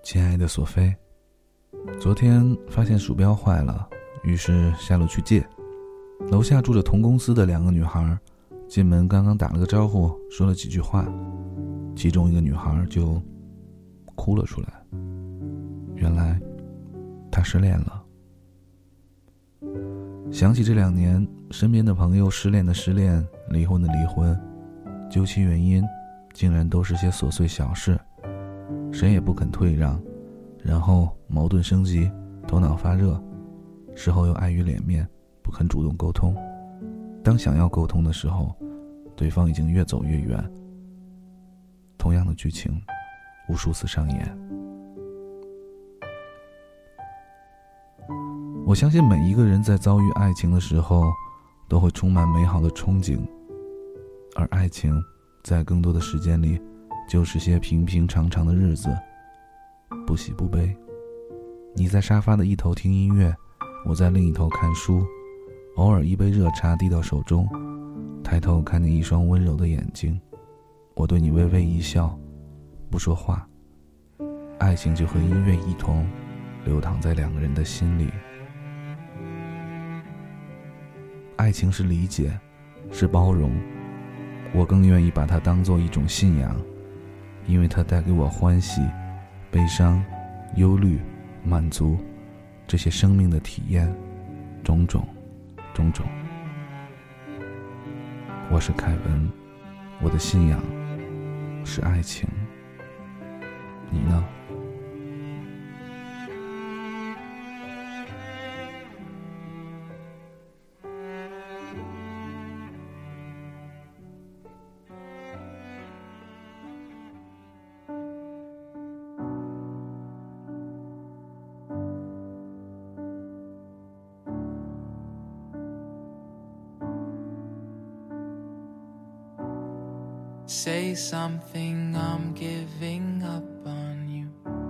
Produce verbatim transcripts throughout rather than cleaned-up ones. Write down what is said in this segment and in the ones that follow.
亲爱的索菲，昨天发现鼠标坏了，于是下楼去借。楼下住着同公司的两个女孩，进门刚刚打了个招呼，说了几句话，其中一个女孩就哭了出来。原来她失恋了。想起这两年身边的朋友失恋的失恋，离婚的离婚，究其原因竟然都是些琐碎小事，谁也不肯退让，然后矛盾升级，头脑发热，事后又碍于脸面不肯主动沟通。当想要沟通的时候，对方已经越走越远。同样的剧情无数次上演。我相信每一个人在遭遇爱情的时候都会充满美好的憧憬，而爱情在更多的时间里就是些平平常常的日子，不喜不悲。你在沙发的一头听音乐，我在另一头看书，偶尔一杯热茶递到手中，抬头看见一双温柔的眼睛，我对你微微一笑，不说话，爱情就和音乐一同流淌在两个人的心里。爱情是理解，是包容，我更愿意把它当作一种信仰，因为它带给我欢喜、悲伤、忧虑、满足，这些生命的体验，种种种种。我是凯文，我的信仰是爱情，你呢 ？Say something, I'm giving up on you.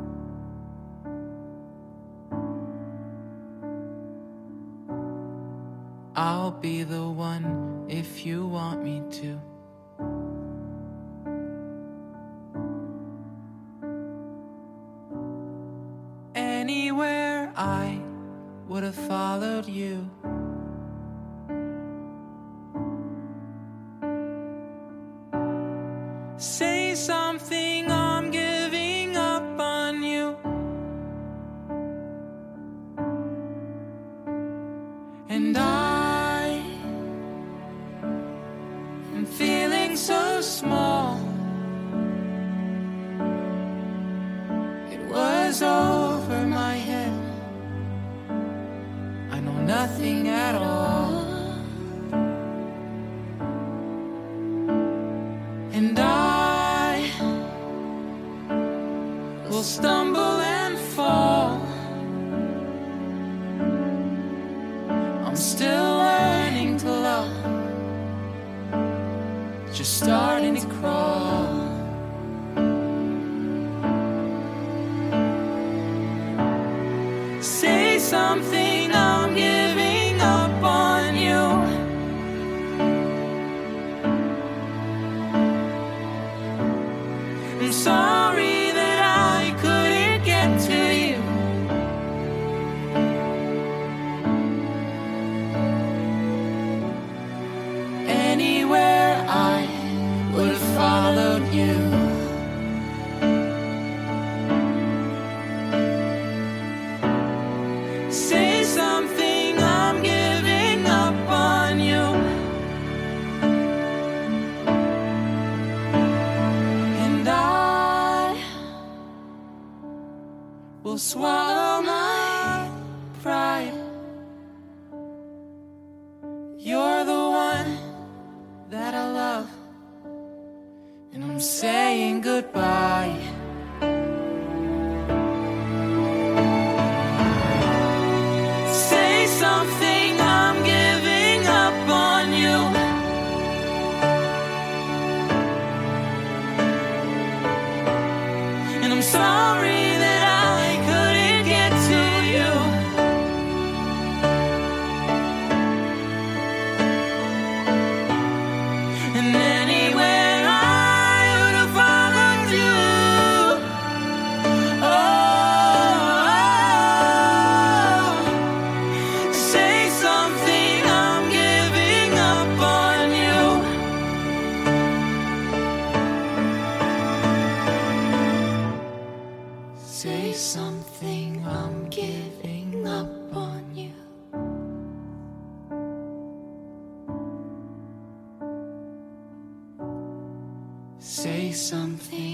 I'll be the one if you want me to. Anywhere I would have followed you. Say something, I'm giving up on you. And I am feeling so small. It was over my head. I know nothing at all. And I will stumble and fall. I'm still learning to love, just starting to crawl. Say something, I'm giving up on you. I'm sorry that I couldn't get to you. Anywhere I would have followed you. Say something, I'm giving up on you. And I will swallow my pride. You're the one that I love, and I'm saying goodbye. Say something, I'm giving up on you. And I'm sorry that I couldn't get something, I'm giving up on you. Say something.